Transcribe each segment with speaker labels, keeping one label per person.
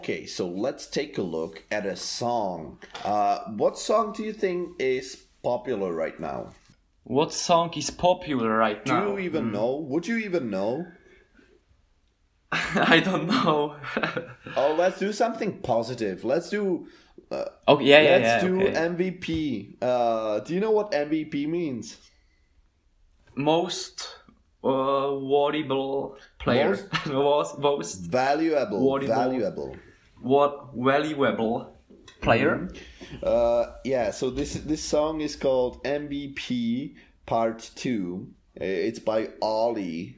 Speaker 1: Okay, so let's take a look at a song. What song do you think is popular right now?
Speaker 2: What song is popular right now?
Speaker 1: Do you even know? Would you even know?
Speaker 2: I don't know.
Speaker 1: Oh, let's do something positive. Let's do.
Speaker 2: Let's
Speaker 1: do
Speaker 2: okay.
Speaker 1: MVP. Do you know what MVP means?
Speaker 2: Most valuable player. most
Speaker 1: Valuable. Valuable.
Speaker 2: What valuable player?
Speaker 1: Yeah. So this song is called MVP Part 2. It's by Ollie.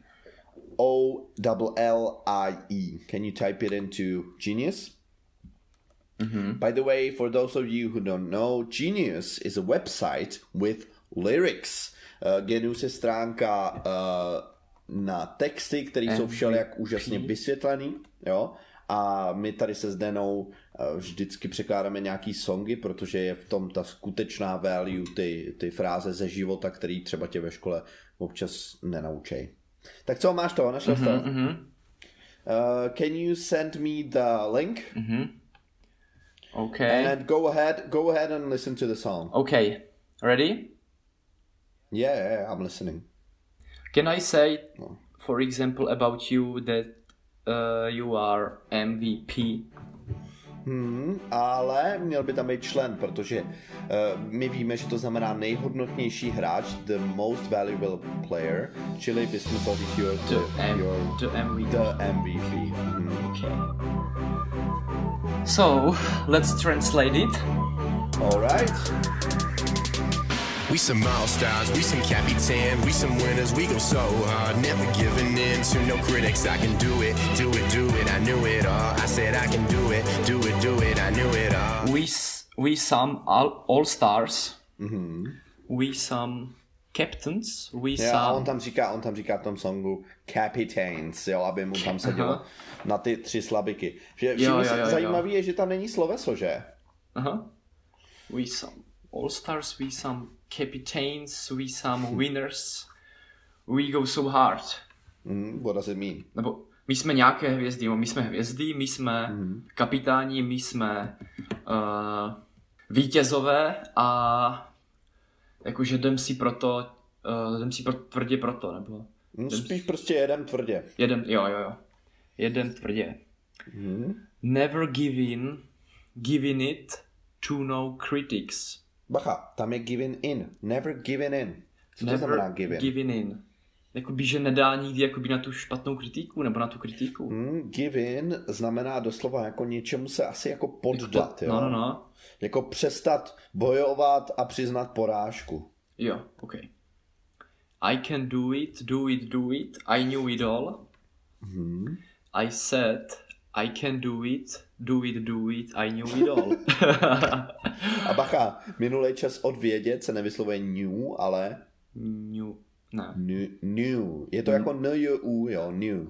Speaker 1: Ollie. Can you type it into Genius?
Speaker 2: Mm-hmm.
Speaker 1: By the way, for those of you who don't know, Genius is a website with lyrics. Genius je stránka na texty, které jsou všelijak úžasně vysvětlený. Jo? A my tady se Zdenou vždycky překládáme nějaký songy, protože je v tom ta skutečná value, ty fráze ze života, který třeba tě ve škole občas nenaučej. Tak co, máš to? Našel jsi to? Can you send me the link?
Speaker 2: Okay.
Speaker 1: And go ahead and listen to the song.
Speaker 2: Okay. Ready?
Speaker 1: Yeah, I'm listening.
Speaker 2: Can I say, for example, about you that you are MVP?
Speaker 1: Ale měl by tam být člen, protože my víme, že to znamená nejhodnotnější hráč, the most valuable player, čili bychom to říct
Speaker 2: the MVP.
Speaker 1: The MVP.
Speaker 2: Okay. So, let's translate it.
Speaker 1: Alright.
Speaker 3: We some all-stars, we some capitan, we some winners, we go so hard, never giving in to no critics. I can do it, I knew it all. I said I can do it, I knew it all.
Speaker 2: We some all-stars, we some captains, some...
Speaker 1: On tam říká v tom songu capitains, jo, aby mu tam sedělo na ty 3 slabiky. Zajímavý je, že tam není sloveso, že?
Speaker 2: We some all-stars, we some captains, we some winners, we go so hard.
Speaker 1: What does it mean?
Speaker 2: Nebo my jsme nějaké hvězdy, my jsme kapitáni, my jsme vítězové a jakože jdem si tvrdě proto, nebo...
Speaker 1: Spíš prostě jedem tvrdě.
Speaker 2: Jedem tvrdě. Never giving it to no critics.
Speaker 1: Bacha, tam je giving in. Never giving in. Co to znamená
Speaker 2: giving in? Jakoby, že nedá nikdy jakoby na tu špatnou kritiku, nebo na tu kritiku.
Speaker 1: Give in znamená doslova jako něčemu se asi jako poddat, jo?
Speaker 2: No.
Speaker 1: Jako přestat bojovat a přiznat porážku.
Speaker 2: Jo, ok. I can do it, I knew it all. I said, I can do it, I knew it all.
Speaker 1: A bacha, minulý čas od vědět se nevyslovuje new, ale... New. Je to jako n-u, jo, new.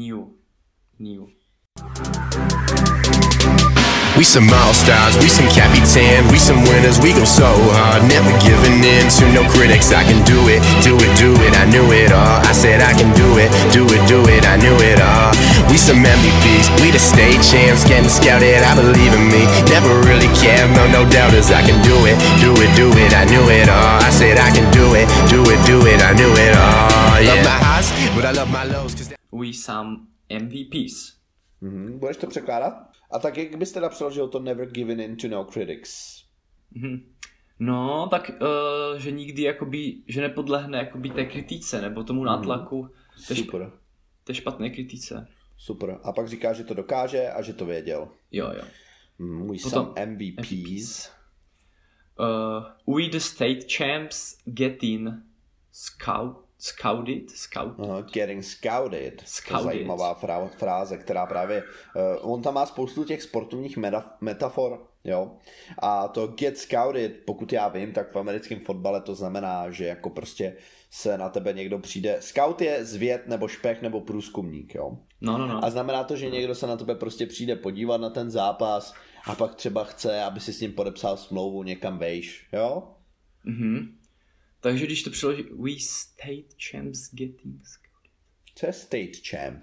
Speaker 3: We some all-stars, we some capitan, we some winners, we go so hard, never giving in to no critics. I can do it, I knew it all. I said I can do it, I knew it all. We some MVPs, we the state champs, getting scouted, I believe in me. Never really cared, no doubters. I can do it, I knew it all. I said I can do it, I knew it all. Yeah. Love my highs, but I love my lows.
Speaker 2: We some MVPs.
Speaker 1: Budeš to překládat? A tak jak byste napsal, že to never given in to no critics?
Speaker 2: No, tak, že nikdy jakoby, že nepodlehne jakoby té kritice, nebo tomu nátlaku.
Speaker 1: Super.
Speaker 2: Té špatné kritice.
Speaker 1: Super. A pak říká, že to dokáže a že to věděl.
Speaker 2: Jo.
Speaker 1: Můj some MVPs.
Speaker 2: We the state champs getting scouted.
Speaker 1: Getting scouted. To je zajímavá fráze, která právě... on tam má spoustu těch sportovních metafor, jo. A to get scouted, pokud já vím, tak v americkém fotbale to znamená, že jako prostě se na tebe někdo přijde... Scout je zvěd nebo špech nebo průzkumník, jo.
Speaker 2: No.
Speaker 1: A znamená to, že někdo se na tebe prostě přijde podívat na ten zápas a pak třeba chce, aby si s ním podepsal smlouvu, někam vejš, jo.
Speaker 2: Takže když to přeloží, we state champs getting scouted.
Speaker 1: Co je state champ?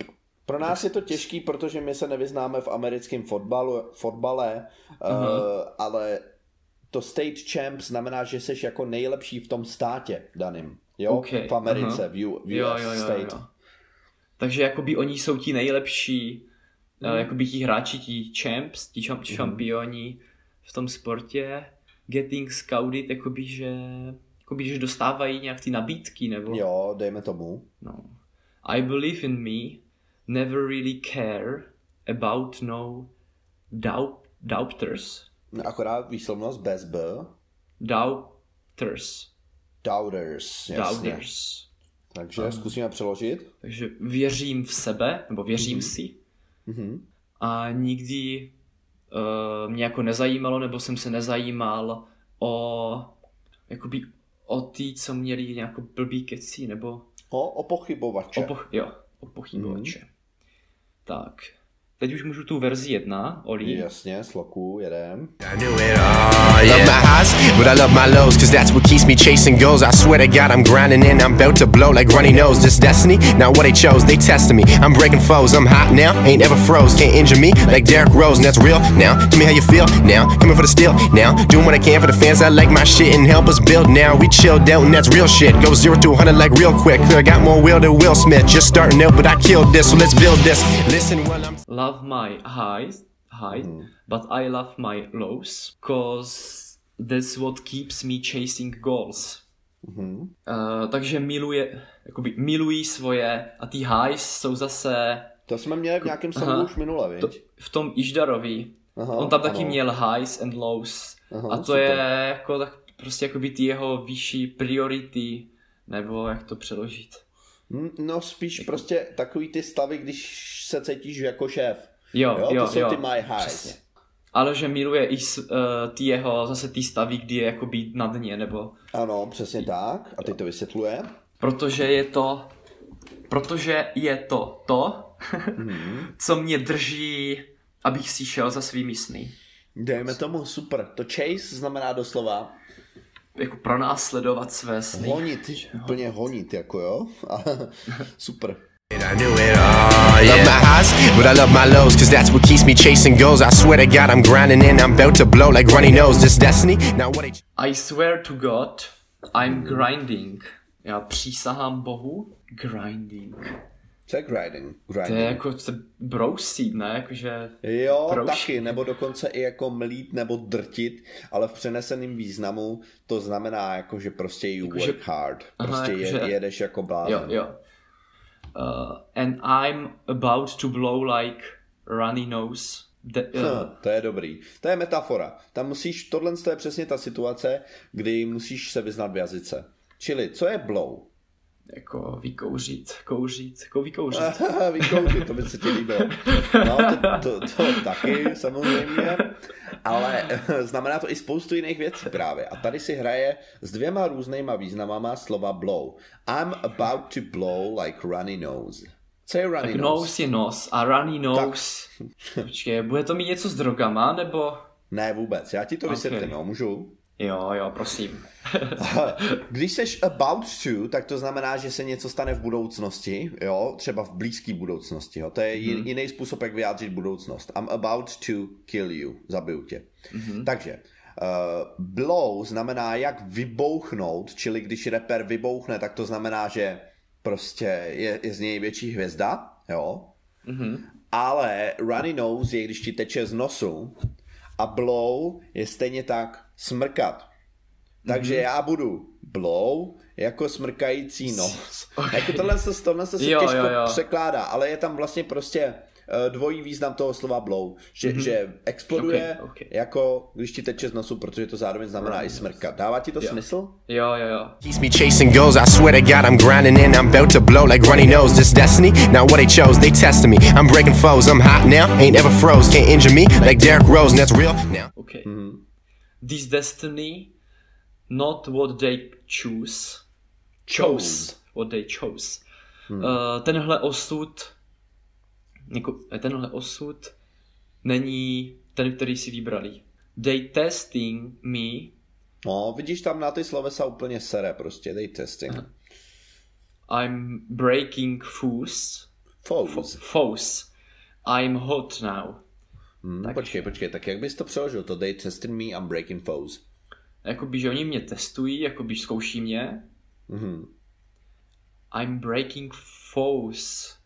Speaker 1: Pro nás je to těžký, protože my se nevyznáme v americkém fotbale, ale to state champ znamená, že jsi jako nejlepší v tom státě daným, jo?
Speaker 2: Okay.
Speaker 1: V Americe, v US state.
Speaker 2: Jo. Takže jakoby oni jsou ti nejlepší, jakoby ti hráči, ti champs, ti šampioni v tom sportě, getting scouted, jakoby, že dostávají nějak ty nabídky, nebo?
Speaker 1: Jo, dejme tomu.
Speaker 2: No. I believe in me, never really care about no doubters.
Speaker 1: Akorát výslovnost bez B.
Speaker 2: Doubters,
Speaker 1: jasně.
Speaker 2: Doubters.
Speaker 1: Takže zkusíme přeložit.
Speaker 2: Takže věřím v sebe, nebo věřím si. A nikdy mě jako nezajímalo, nebo jsem se nezajímal o ty, co měli nějakou blbý keci, nebo...
Speaker 1: O pochybovače.
Speaker 2: O pochybovače. Tak. Teď už můžu tu verzi 1, Oli.
Speaker 1: Jasně, sloku, jedem.
Speaker 3: I knew it all, yeah. Love my highs, but I love my lows, cause that's what keeps me chasing goals. I swear to God, I'm grinding and I'm about to blow like runny nose. This destiny, not what they chose, they tested me. I'm breaking foes, I'm hot now, ain't ever froze. Can't injure me like Derrick Rose, and that's real now. Tell me how you feel now, coming for the steal now. Doing what I can for the fans, I like my shit and help us build now. We chilled out and that's real shit. Go 0 to 100 like real quick. I got more will than Will Smith, just starting out, but I killed this, so let's build this. Listen while I'm...
Speaker 2: Love my highs, but I love my lows, cause that's what keeps me chasing goals. Takže milují svoje a ty highs jsou zase...
Speaker 1: To jsme měli v nějakém songu už minule, viď?
Speaker 2: V tom Išdarovi. On tam taky měl highs and lows. A to super. Je jako tak prostě jakoby ty jeho vyšší priority, nebo jak to přeložit?
Speaker 1: No spíš jako... prostě takový ty stavy, když se cítíš jako šéf.
Speaker 2: Jo,
Speaker 1: to jsou ty my highs.
Speaker 2: Přesně. Ale že miluje i ty jeho, zase ty stavy, kdy je jakoby na dně, nebo...
Speaker 1: Ano, přesně tak. A teď to vysvětluje.
Speaker 2: Protože je to, co mě drží, abych si šel za svými sny.
Speaker 1: Dejme tomu, super. To chase znamená doslova...
Speaker 2: Jako pronásledovat své sny.
Speaker 1: Honit, úplně honit, jako jo. Super.
Speaker 3: I knew it all, yeah. Love my highs, but I love my lows, cause that's what keeps me chasing goals. I swear to God, I'm grinding and I'm about to blow like runny nose. This destiny, now what
Speaker 2: I swear to God, I'm grinding. Já přísahám Bohu, grinding.
Speaker 1: Co je grinding?
Speaker 2: To je jako brousit, ne? Jakože
Speaker 1: jo, taky, nebo dokonce i jako mlít nebo drtit, ale v přeneseném významu to znamená jako, že prostě you work hard. Prostě jedeš jako blázen.
Speaker 2: Jo. And I'm about to blow like runny nose.
Speaker 1: To je dobrý. To je metafora. Tam musíš, tohle je přesně ta situace, kdy musíš se vyznat v jazyce. Čili, co je blow?
Speaker 2: Jako vykouřit.
Speaker 1: Vykouřit, to by se ti líbilo. No, to taky samozřejmě, ale znamená to i spoustu jiných věcí právě. A tady si hraje s 2 různýma významama slova blow. I'm about to blow like runny nose. Co je runny
Speaker 2: tak
Speaker 1: nose?
Speaker 2: Nose je nos a runny nose... Počkej, bude to mít něco s drogama, nebo...
Speaker 1: Ne, vůbec, já ti to vysvětlím, no, můžu?
Speaker 2: Jo, prosím.
Speaker 1: Když seš about to, tak to znamená, že se něco stane v budoucnosti, jo, třeba v blízké budoucnosti, jo, to je jiný způsob, jak vyjádřit budoucnost. I'm about to kill you, zabiju tě. Takže, blow znamená jak vybouchnout, čili když rapper vybouchne, tak to znamená, že prostě je z něj větší hvězda, jo, ale runny nose je, když ti teče z nosu, a blow je stejně tak smrkat. Takže já budu blow jako smrkající nos. Jako tohle se těžko překládá, ale je tam vlastně prostě dvojí význam toho slova blow. Že exploduje jako když ti teče z nosu, protože to zároveň znamená i smrkat. Dává ti to smysl?
Speaker 2: Jo.
Speaker 3: Keeps me chasing goals. I swear to God, I'm grinding and I'm about to blow like runny nose. This destiny, not what they chose, they tested me. I'm breaking foes, I'm hot now, ain't ever froze. Can't injure me like Derrick Rose, and that's real now.
Speaker 2: Okay. This destiny, not what they chose. What they chose. Tenhle osud není ten, který si vybrali. They testing me.
Speaker 1: No, vidíš tam na ty slovesa úplně sere prostě. They testing.
Speaker 2: I'm breaking foes. Foes. I'm hot now.
Speaker 1: Počkej, tak jak bys to přeložil? To they tested me, I'm breaking foes.
Speaker 2: Jakoby, že oni mě testují, jakoby zkouší mě. I'm breaking foes.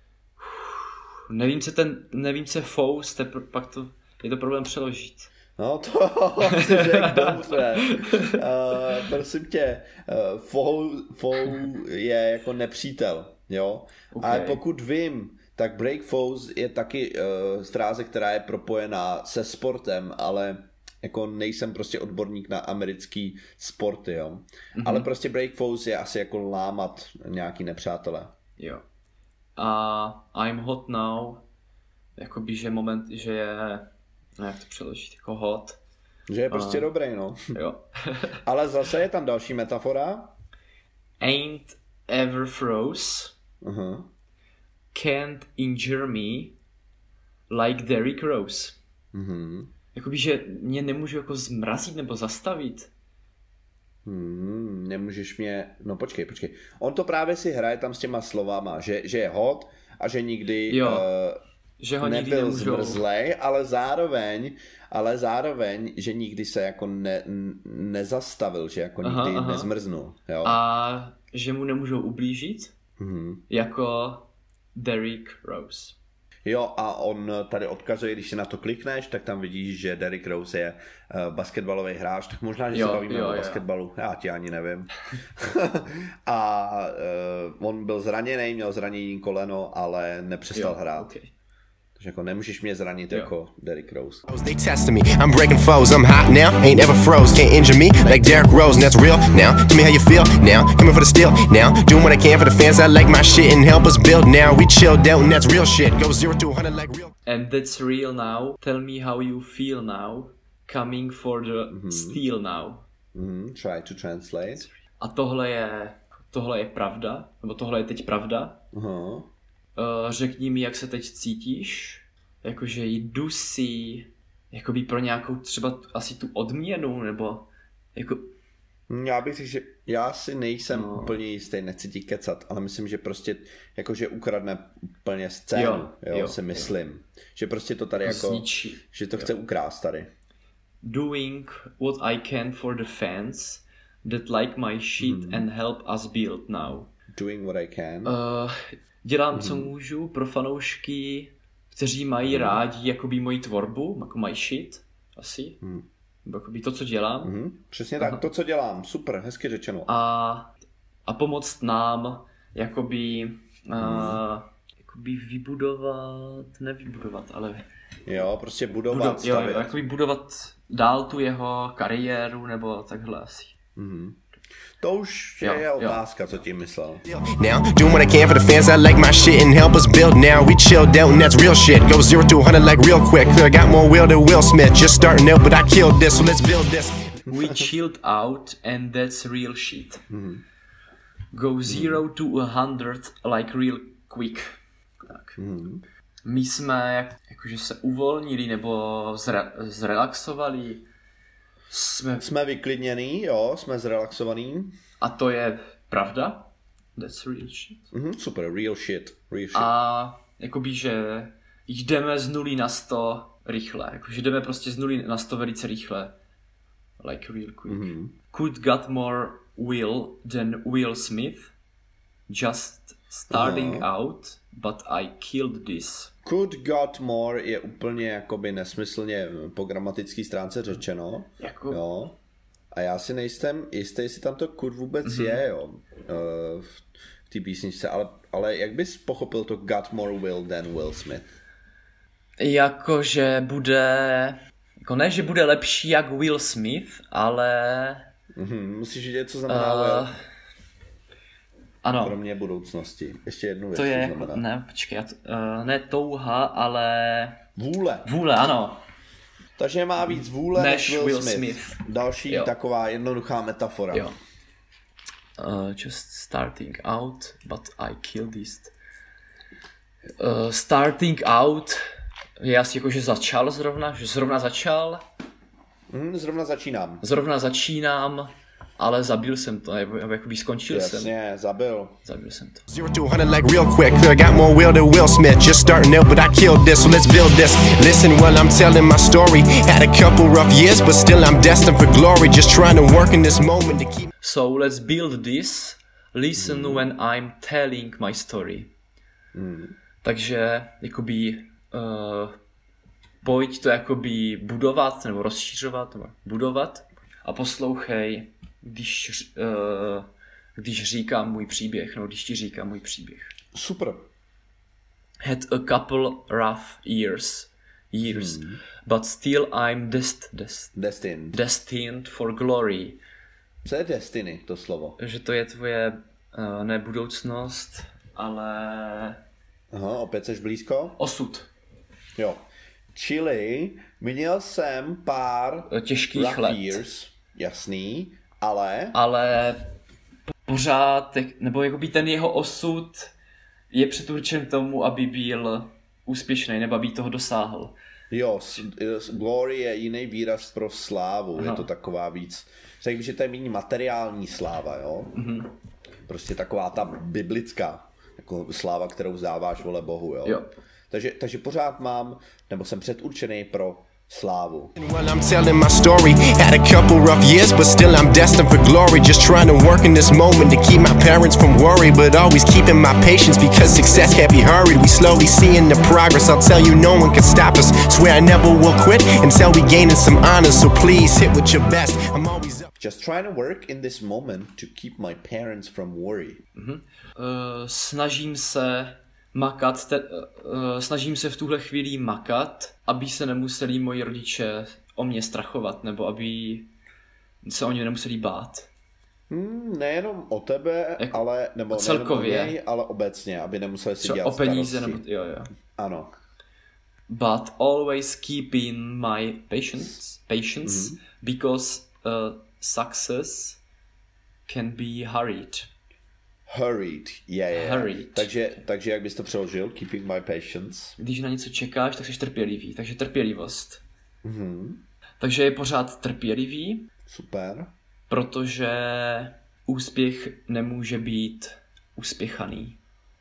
Speaker 2: Nevím, co je foes, pak to je to problém přeložit.
Speaker 1: No to si řekl dobře. Prosím tě, foe je jako nepřítel, jo? Okay. Ale pokud vím, tak break foes je taky fráze, která je propojená se sportem, ale jako nejsem prostě odborník na americký sporty, jo. Ale prostě break foes je asi jako lámat nějaký nepřátelé.
Speaker 2: Jo. A I'm hot now, jakoby, že moment, že je, jak to přeložit, jako hot.
Speaker 1: Že je prostě dobrý, no.
Speaker 2: Jo.
Speaker 1: Ale zase je tam další metafora.
Speaker 2: Ain't ever froze. Can't injure me like Derrick Rose. Jakoby, že mě nemůžu jako zmrazit nebo zastavit.
Speaker 1: Nemůžeš mě... No počkej. On to právě si hraje tam s těma slovama, že je hot a že nikdy
Speaker 2: že ho
Speaker 1: nebyl
Speaker 2: nikdy
Speaker 1: zmrzlej, ale zároveň, že nikdy se jako nezastavil, že jako nikdy nezmrznul. Jo?
Speaker 2: A že mu nemůžou ublížit, jako Derrick Rose.
Speaker 1: Jo, a on tady odkazuje, když si na to klikneš, tak tam vidíš, že Derrick Rose je basketbalový hráč, tak možná, že se bavíme o basketbalu, já ti ani nevím. A on byl zraněný, měl zranění koleno, ale nepřestal hrát. Okay. Takže jako nemůžeš mě zranit jako Derrick Rose.
Speaker 3: They tested me, I'm breaking foes, I'm hot now, ain't ever froze, can't injure me like Derrick Rose, and that's real now. Tell me how you feel now, coming for the steal now, doing what I can for the fans, I like my shit and help us build now. We chilled out and that's real shit, go 0 to 100 like real.
Speaker 2: And that's real now, tell me how you feel now, coming for the steal now.
Speaker 1: Try to translate.
Speaker 2: A tohle je pravda, nebo tohle je teď pravda. Řekni mi, jak se teď cítíš, jakože jdu si jakoby pro nějakou třeba asi tu odměnu, nebo jako...
Speaker 1: Já bych řekl, že já si nejsem úplně jistý, nechci ti kecat, ale myslím, že prostě jakože ukradne úplně scénu, jo, si myslím. Jo. Že prostě to tady jako, zničí. Že to chce ukrást tady.
Speaker 2: Doing what I can for the fans that like my shit and help us build now.
Speaker 1: Doing what I can.
Speaker 2: Dělám, co můžu pro fanoušky, kteří mají rádi jakoby moji tvorbu, jako my shit, asi. Jakoby to, co dělám.
Speaker 1: Přesně tak, to, co dělám. Super, hezky řečeno.
Speaker 2: A pomoct nám jakoby nevybudovat, ale...
Speaker 1: Jo, prostě budovat, stavět.
Speaker 2: Jo, jakoby budovat dál tu jeho kariéru, nebo takhle asi.
Speaker 1: To už je otázka, co tím myslel.
Speaker 3: Now, doing what I can for the fans, I like my shit and help us build now. We chilled out and that's real shit, go 0 to 100 like real quick. I got more will than Will Smith, just starting out but I killed this, so let's build this.
Speaker 2: We chilled out and that's real shit. Go 0 to 100 like real quick. Tak. My jsme jakože se uvolnili nebo zrelaxovali.
Speaker 1: Jsme vyklidněný, jo, jsme zrelaxovaný.
Speaker 2: A to je pravda. That's real shit.
Speaker 1: Super, real shit.
Speaker 2: A jakoby, že jdeme z 0 na 100 rychle. Jakože jdeme prostě z 0 na 100 velice rychle. Like real quick. Could got more will than Will Smith. Just starting out, but I killed this.
Speaker 1: Could got more je úplně jakoby nesmyslně po gramatické stránce řečeno.
Speaker 2: Jako...
Speaker 1: Jo. A já si nejsem jistý, jestli tam to could vůbec je, jo. V té písničce, ale jak bys pochopil to got more will than Will Smith?
Speaker 2: Jakože bude... Jako ne, že bude lepší jak Will Smith, ale...
Speaker 1: Musíš vidět, co znamená will.
Speaker 2: Ano.
Speaker 1: Kromě budoucnosti. Ještě jednu věc.
Speaker 2: To je jako, ne, počkej, ne touha, ale...
Speaker 1: Vůle,
Speaker 2: ano.
Speaker 1: Takže má víc vůle než Will Smith. Další taková jednoduchá metafora.
Speaker 2: Jo. Just starting out, but I killed this. Starting out je asi jako, že začal zrovna, že zrovna začal.
Speaker 1: Zrovna začínám.
Speaker 2: Zrovna začínám. ale zabil jsem to, nebo jakoby skončil jsem.
Speaker 1: Jasně, zabil
Speaker 2: jsem to.
Speaker 3: 0 to 100 like real quick. Got more will than Will Smith. Just starting out, but I killed this, so let's build this. Listen while I'm telling my story. Had a couple rough years, but still I'm destined for glory. Just trying to work in this moment to keep.
Speaker 2: So let's build this. Listen when I'm telling my story. Takže jakoby pojď to jakoby budovat nebo rozšířovat nebo budovat a poslouchej, když říkám můj příběh, no když ti říkám můj příběh.
Speaker 1: Super.
Speaker 2: Had a couple rough years, but still I'm destined for glory.
Speaker 1: Co je destiny, to slovo?
Speaker 2: Že to je tvoje ne budoucnost, ale...
Speaker 1: Aha, opět seš blízko?
Speaker 2: Osud.
Speaker 1: Jo. Čili měl jsem pár
Speaker 2: těžkých let.
Speaker 1: Years, jasný, ale...
Speaker 2: Ale pořád, nebo jakoby ten jeho osud je předurčen tomu, aby byl úspěšný, nebo aby toho dosáhl.
Speaker 1: Jo, glory je jiný výraz pro slávu, je to taková víc, řekl bych, že to je méně materiální sláva, jo? Mm-hmm. Prostě taková ta biblická, jako sláva, kterou vzdáváš vole Bohu, jo? Takže pořád mám, nebo jsem předurčený pro slávu.
Speaker 3: While I'm telling my story, had a couple rough years, but still I'm destined for glory. Just trying to work in this moment to keep my parents from worry, but always keeping my patience because success can't be hurried. We slowly seeing the progress. I'll tell you, no one can stop us. Swear I never will quit until we gaining some honors. So please hit with your best. I'm always up.
Speaker 1: Just trying to work in this moment to keep my parents from worry.
Speaker 2: Snažím se makat, snažím se v tuhle chvíli makat, aby se nemuseli moji rodiče o mě strachovat, nebo aby se o ně nemuseli bát.
Speaker 1: Nejenom o tebe, ale nebo
Speaker 2: celkově,
Speaker 1: o něj, ale obecně, aby nemuseli si dělat
Speaker 2: o peníze,
Speaker 1: starosti.
Speaker 2: Nebo, jo.
Speaker 1: Ano.
Speaker 2: But always keeping my patience because success can be hurried. Hurried.
Speaker 1: Takže jak bys to přeložil? Keeping my patience.
Speaker 2: Když na něco čekáš, tak jsi trpělivý. Takže trpělivost. Takže je pořád trpělivý.
Speaker 1: Super.
Speaker 2: Protože úspěch nemůže být uspěchaný.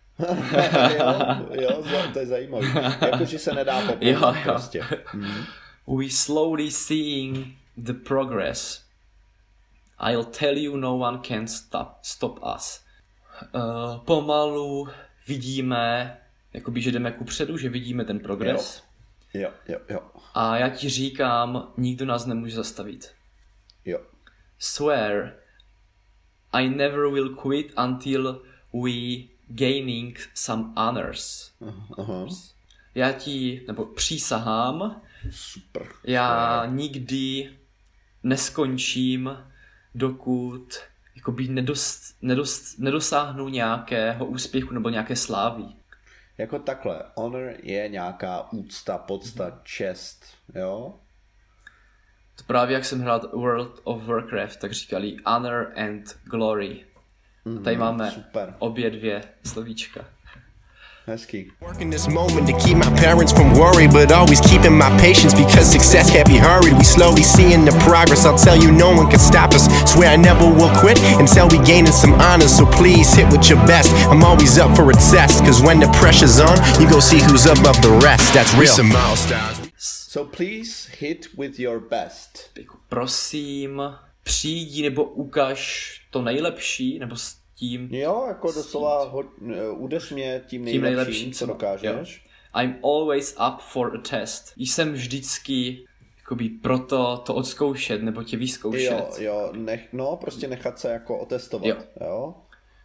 Speaker 1: jo, to je zajímavé. Jakože se nedá popnout prostě.
Speaker 2: We slowly seeing the progress. I'll tell you, no one can stop us. Pomalu vidíme, jakoby, že jdeme kupředu, že vidíme ten progres.
Speaker 1: Jo.
Speaker 2: A já ti říkám, nikdo nás nemůže zastavit.
Speaker 1: Jo.
Speaker 2: Swear, I never will quit until we gaining some honors. Já ti, nebo přísahám,
Speaker 1: super.
Speaker 2: Já nikdy neskončím, dokud jakoby nedosáhnu nějakého úspěchu nebo nějaké slávy.
Speaker 1: Jako takhle, honor je nějaká úcta, podsta, čest, jo?
Speaker 2: To právě jak jsem hrál World of Warcraft, tak říkali honor and glory. A tady máme obě dvě slovíčka.
Speaker 1: Hezký.
Speaker 3: Working this moment to keep my parents from worry, but always keeping my patience because success can't be hurried. We slowly seeing the progress. I'll tell you, no one can stop us. Swear I never will quit until we gaining some honors. So please hit with your best. I'm always up for a test, cause when the pressure's on, you go see who's above the rest. That's real. Some milestones.
Speaker 1: So please hit with your best.
Speaker 2: Prosím, přijdi nebo ukaž to nejlepší, nebo tím...
Speaker 1: Jo, jako doslova udeř mě tím nejlepším, co dokážeš.
Speaker 2: Jo. I'm always up for a test. Jsem vždycky jakoby proto to odzkoušet, nebo tě vyzkoušet.
Speaker 1: Jo, prostě nechat se jako otestovat, jo.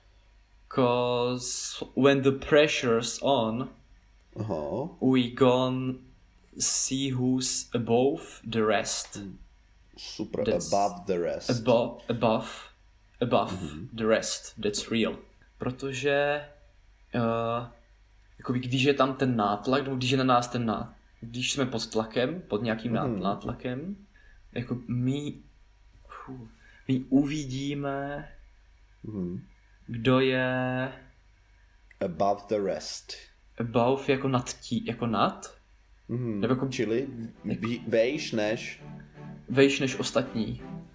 Speaker 2: Cause when the pressure's on, we gonna see who's above the rest.
Speaker 1: Super, above the rest. Above the rest, that's real. Protože jakoby, když je tam ten nátlak, nebo když je na nás ten nátlak, když jsme pod tlakem, pod nějakým nátlakem, jako my uvidíme, kdo je above the rest.
Speaker 2: Above jako nad?
Speaker 1: Nebo jako, čili vejš než
Speaker 2: ostatní.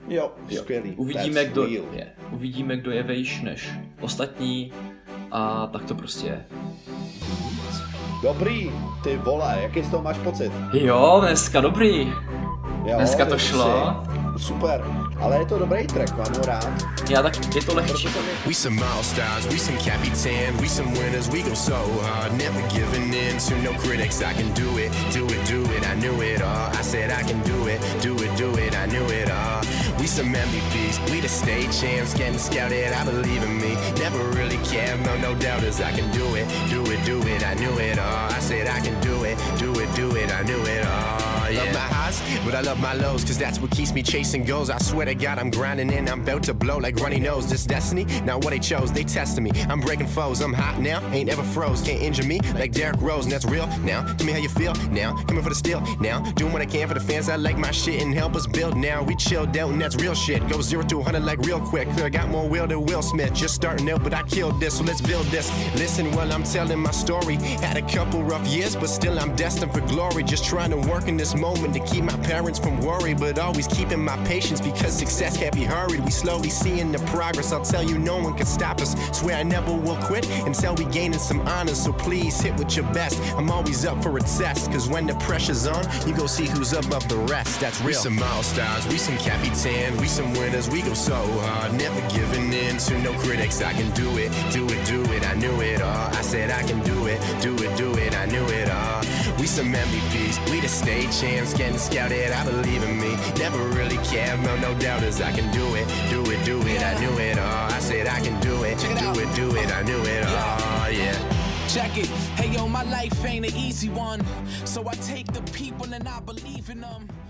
Speaker 1: Jo, skvělý.
Speaker 2: Uvidíme, kdo je vejš než ostatní a tak to prostě je.
Speaker 1: Dobrý, ty vole, jaký z toho máš pocit?
Speaker 2: Jo, dneska dobrý.
Speaker 1: Jo,
Speaker 2: dneska to šlo.
Speaker 1: Super, ale je to dobrý track, mám ho rád.
Speaker 2: Já tak, je to lehčí.
Speaker 3: We some milestones, we some Capitan, we some winners, we go so hard, never giving in to no critics. I can do it, I knew it all. I said I can do it, I knew it all. We some MVPs, we the state champs, getting scouted, I believe in me. Never really cared, no doubters. I can do it, I knew it all. I said I can do it, I knew it all. Yeah. Love my highs, but I love my lows, cause that's what keeps me chasing goals. I swear to God, I'm grinding and I'm about to blow like runny nose. This destiny, not what they chose, they tested me. I'm breaking foes, I'm hot now, ain't ever froze. Can't injure me like Derrick Rose, and that's real now. Tell me how you feel now, coming for the steal now. Doing what I can for the fans, I like my shit and help us build now. We chilled out and that's real shit. Go 0 to 100 like real quick. I got more will than Will Smith, just starting out, but I killed this, so let's build this. Listen while I'm telling my story. Had a couple rough years, but still I'm destined for glory. Just trying to work in this moment to keep my parents from worry, but always keeping my patience because success can't be hurried. We slowly seeing the progress. I'll tell you, no one can stop us. Swear I never will quit until we gaining some honors. So please hit with your best. I'm always up for a test, cause when the pressure's on, you go see who's above the rest. That's real. We some milestones, we some Capitan, we some winners. We go so hard, never giving in to no critics. I can do it, I knew it all. I said I can do it, I knew it all. We some MVPs, we the state champs, getting scouted, I believe in me. Never really cared, no doubters. I can do it, I knew it all. I said I can do it, I knew it all, yeah.
Speaker 4: Check it, hey yo, my life ain't an easy one, so I take the people and I believe in them.